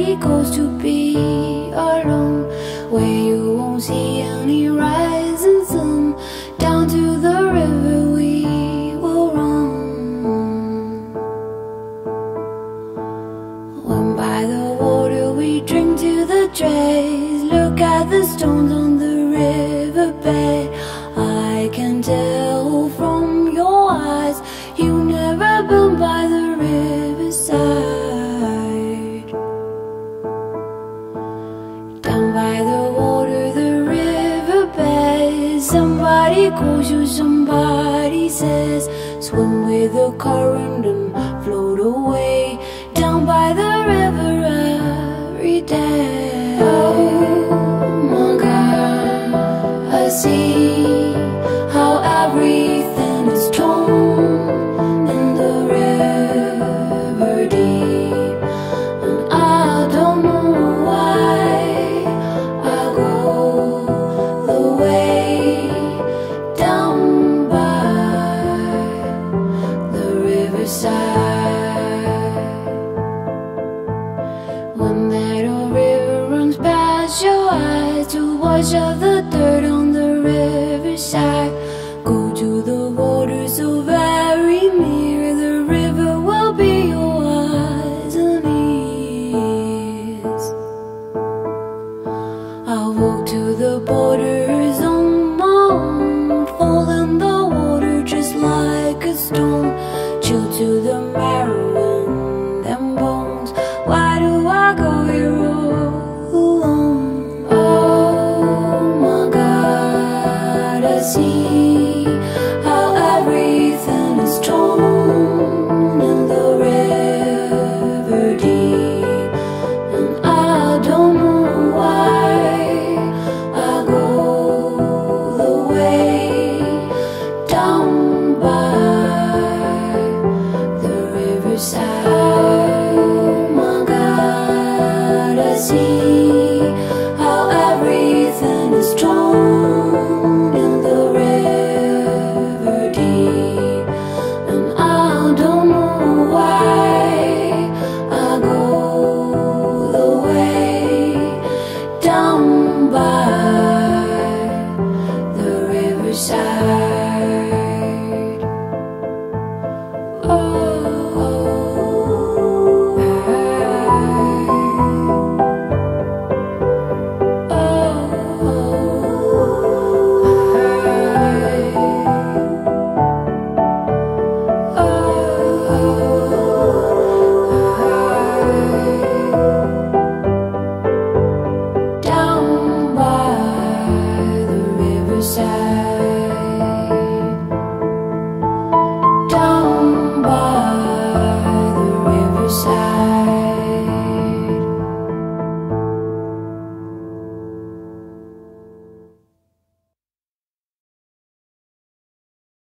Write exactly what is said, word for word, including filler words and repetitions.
somebody goes to be alone, where you won't see any rising sun. Down to the river we will run. When by the water we drink to the dregs, look at the stones on the riverbed. I can tell from your eyes you never been by the riverside. Down by the water, the riverbed, somebody calls you, somebody says, swim with the current and float away. Down by the river every day. Oh my God, I see how everything is torn in the river deep, and I don't know why I go the way down by the riverside. When that old river runs past your eyes to wash off the dirt on the riverside, go to the water so very near. The river will be your eyes and ears. I'll walk to the borders on my own, fall in the water just like a stone, chill to the marrow in them bones. Why do I go here all alone? Oh my God, I see how everything is torn in the river deep, and I don't know why I go the way down by the riverside. Oh my God, I see how everything is torn